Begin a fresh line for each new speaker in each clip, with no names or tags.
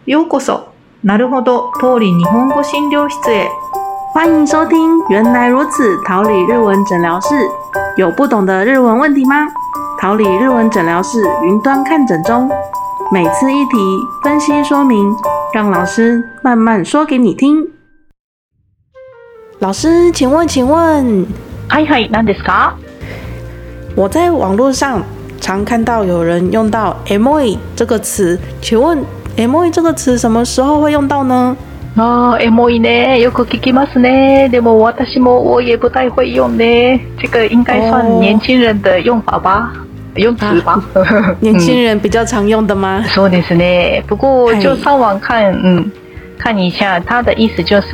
ようこそなるほど桃李日本語診療室へ。
欢迎收听原来如此桃李日文诊疗室。有不懂的日文问题吗？桃李日文诊疗室云端看诊中，每次一题分析说明，让老师慢慢说给你听。老师，请问，
はいはい、何ですか？
我在网络上常看到有人用到 "エモい" 这个词，请问 "エモい" 这个词什么时候会用到呢？
エモいね，よく聞きますね。でも我也不太会用呢。这个应该算年轻人的用法吧，用词吧。
年轻人比较常用的吗？
そうですね。不过就上网看，看一下，它的意思就是，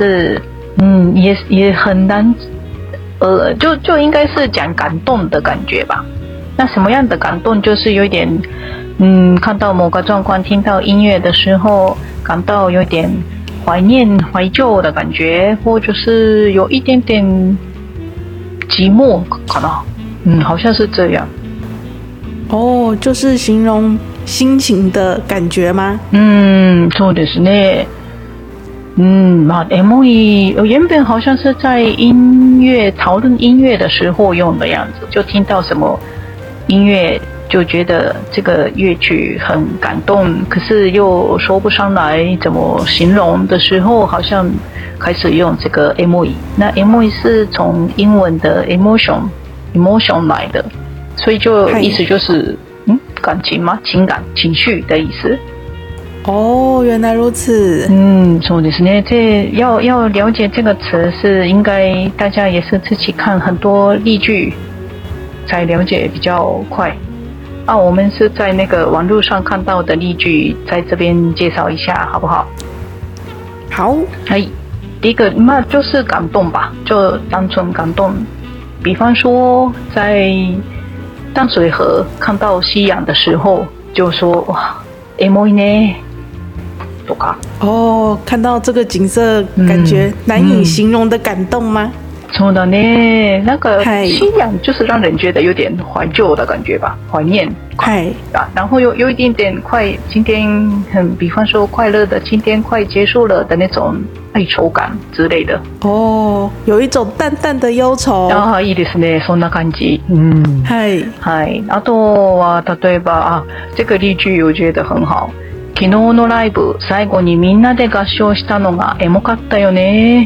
也很难，就应该是讲感动的感觉吧。那什么样的感动？就是有点，看到某个状况，听到音乐的时候，感到有点怀念、怀旧的感觉，或者是有一点点寂寞，可能，好像是这样。
哦，就是形容心情的感觉吗？
そうですね。エモい原本好像是在讨论音乐的时候用的样子，就听到什么音乐就觉得这个乐曲很感动，可是又说不上来怎么形容的时候，好像开始用这个 emoji。那 emoji 是从英文的 emotion 来的，所以就意思就是感情吗？情感、情绪的意思。
哦，原来如此。
そうですね。要了解这个词，是应该大家也是自己看很多例句才了解比较快。我们是在那个网络上看到的例句，在这边介绍一下，好不好？
好。
第一个就是感动吧，就单纯感动。比方说在淡水河看到夕阳的时候，就说哇，エモいね。
看到这个景色，感觉难以形容的感动吗？
そうだね，那个夕阳就是让人觉得有点怀旧的感觉吧，怀念。然后有一点点快，今天比方说快乐的，今天快结束了的那种哀愁感之类的。
有一种淡淡的忧愁。
いいですね、そんな感じ。あとは例えば这个例句我觉得很好。昨日のライブ、最後にみんなで合唱したのがエモかったよね。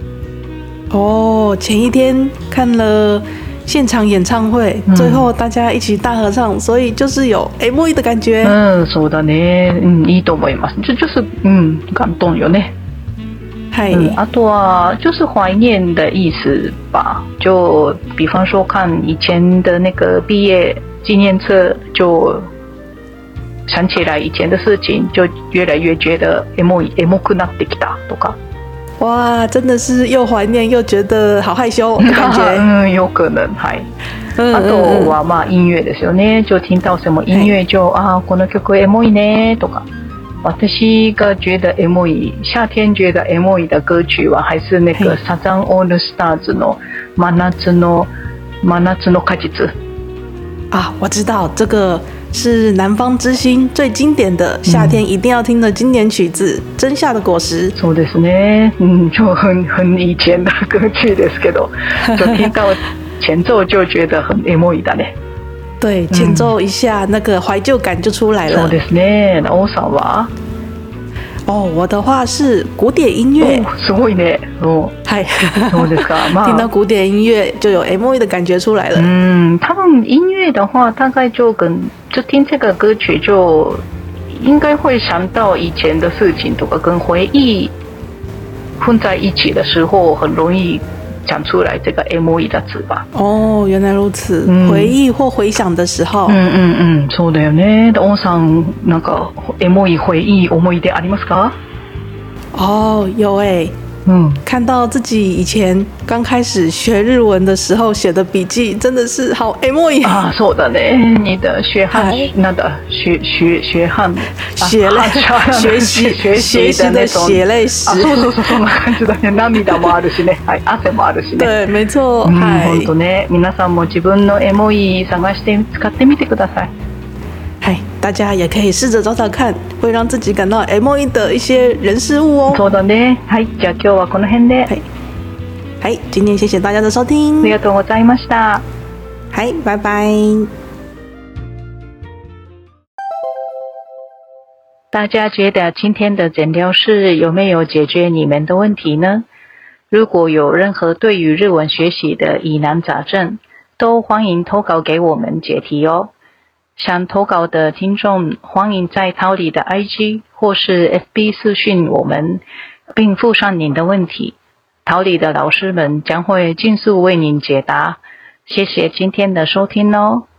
前一天看了现场演唱会，最后大家一起大合唱，所以就是有エモい的感觉。
そうだね。いいと思います。就是感动よね。あとは就是怀念的意思吧。就比方说看以前的那个毕业纪念册，就想起来以前的事情，就越来越觉得エモくなってきたとか。
哇，真的是又怀念又觉得好害羞的感觉。
有可能。あとは音乐ですよね。就听到什么音乐就この曲エモいねとか。私が觉得エモい、夏天觉得エモい的歌曲は还是那个サザンオールスターズの真夏の果実。
我知道这个是南方之星最经典的夏天一定要听的经典曲子《真夏的果实》。
そうですね。就很以前的歌曲ですけど，就听到前奏就觉得很エモいだね。
对，前奏一下，那个怀旧感就出来了。
そうですね。王さんは？
我的话是古典音乐。
すごいね。そうですか。
听到古典音乐就有エモい的感觉出来了。
他们音乐的话，大概就听这个歌曲就应该会想到以前的事情，とか跟回忆混在一起的时候，很容易讲出来这个エモい的字吧。
原来如此。回忆或回想的时候。
そうだよね。王さんなんかエモい回忆思い出ありますか？
有看到自己以前刚开始学日文的时候写的笔记，真的是好エモい。
そうだね。你的学汉
学習的血淚史。
そうそんな感じだね。涙もあるしね。汗もあるしね。
对，没错。
本当ね。皆さんも自分のエモい探して使ってみてください。
大家也可以試着找找看，会让自己感到エモい的一些人事物哦。
そうだね。はい、じゃあ今日はこの辺で。
はい、今天谢谢大家的收听。
ありがとうございました。
はい、拜拜。
大家觉得今天的诊疗室有没有解决你们的问题呢？如果有任何对于日文学习的疑难杂症，都欢迎投稿给我们解题哦。想投稿的听众，欢迎在桃李的 IG 或是 FB 私讯我们，并附上您的问题。桃李的老师们将会尽速为您解答。谢谢今天的收听哦。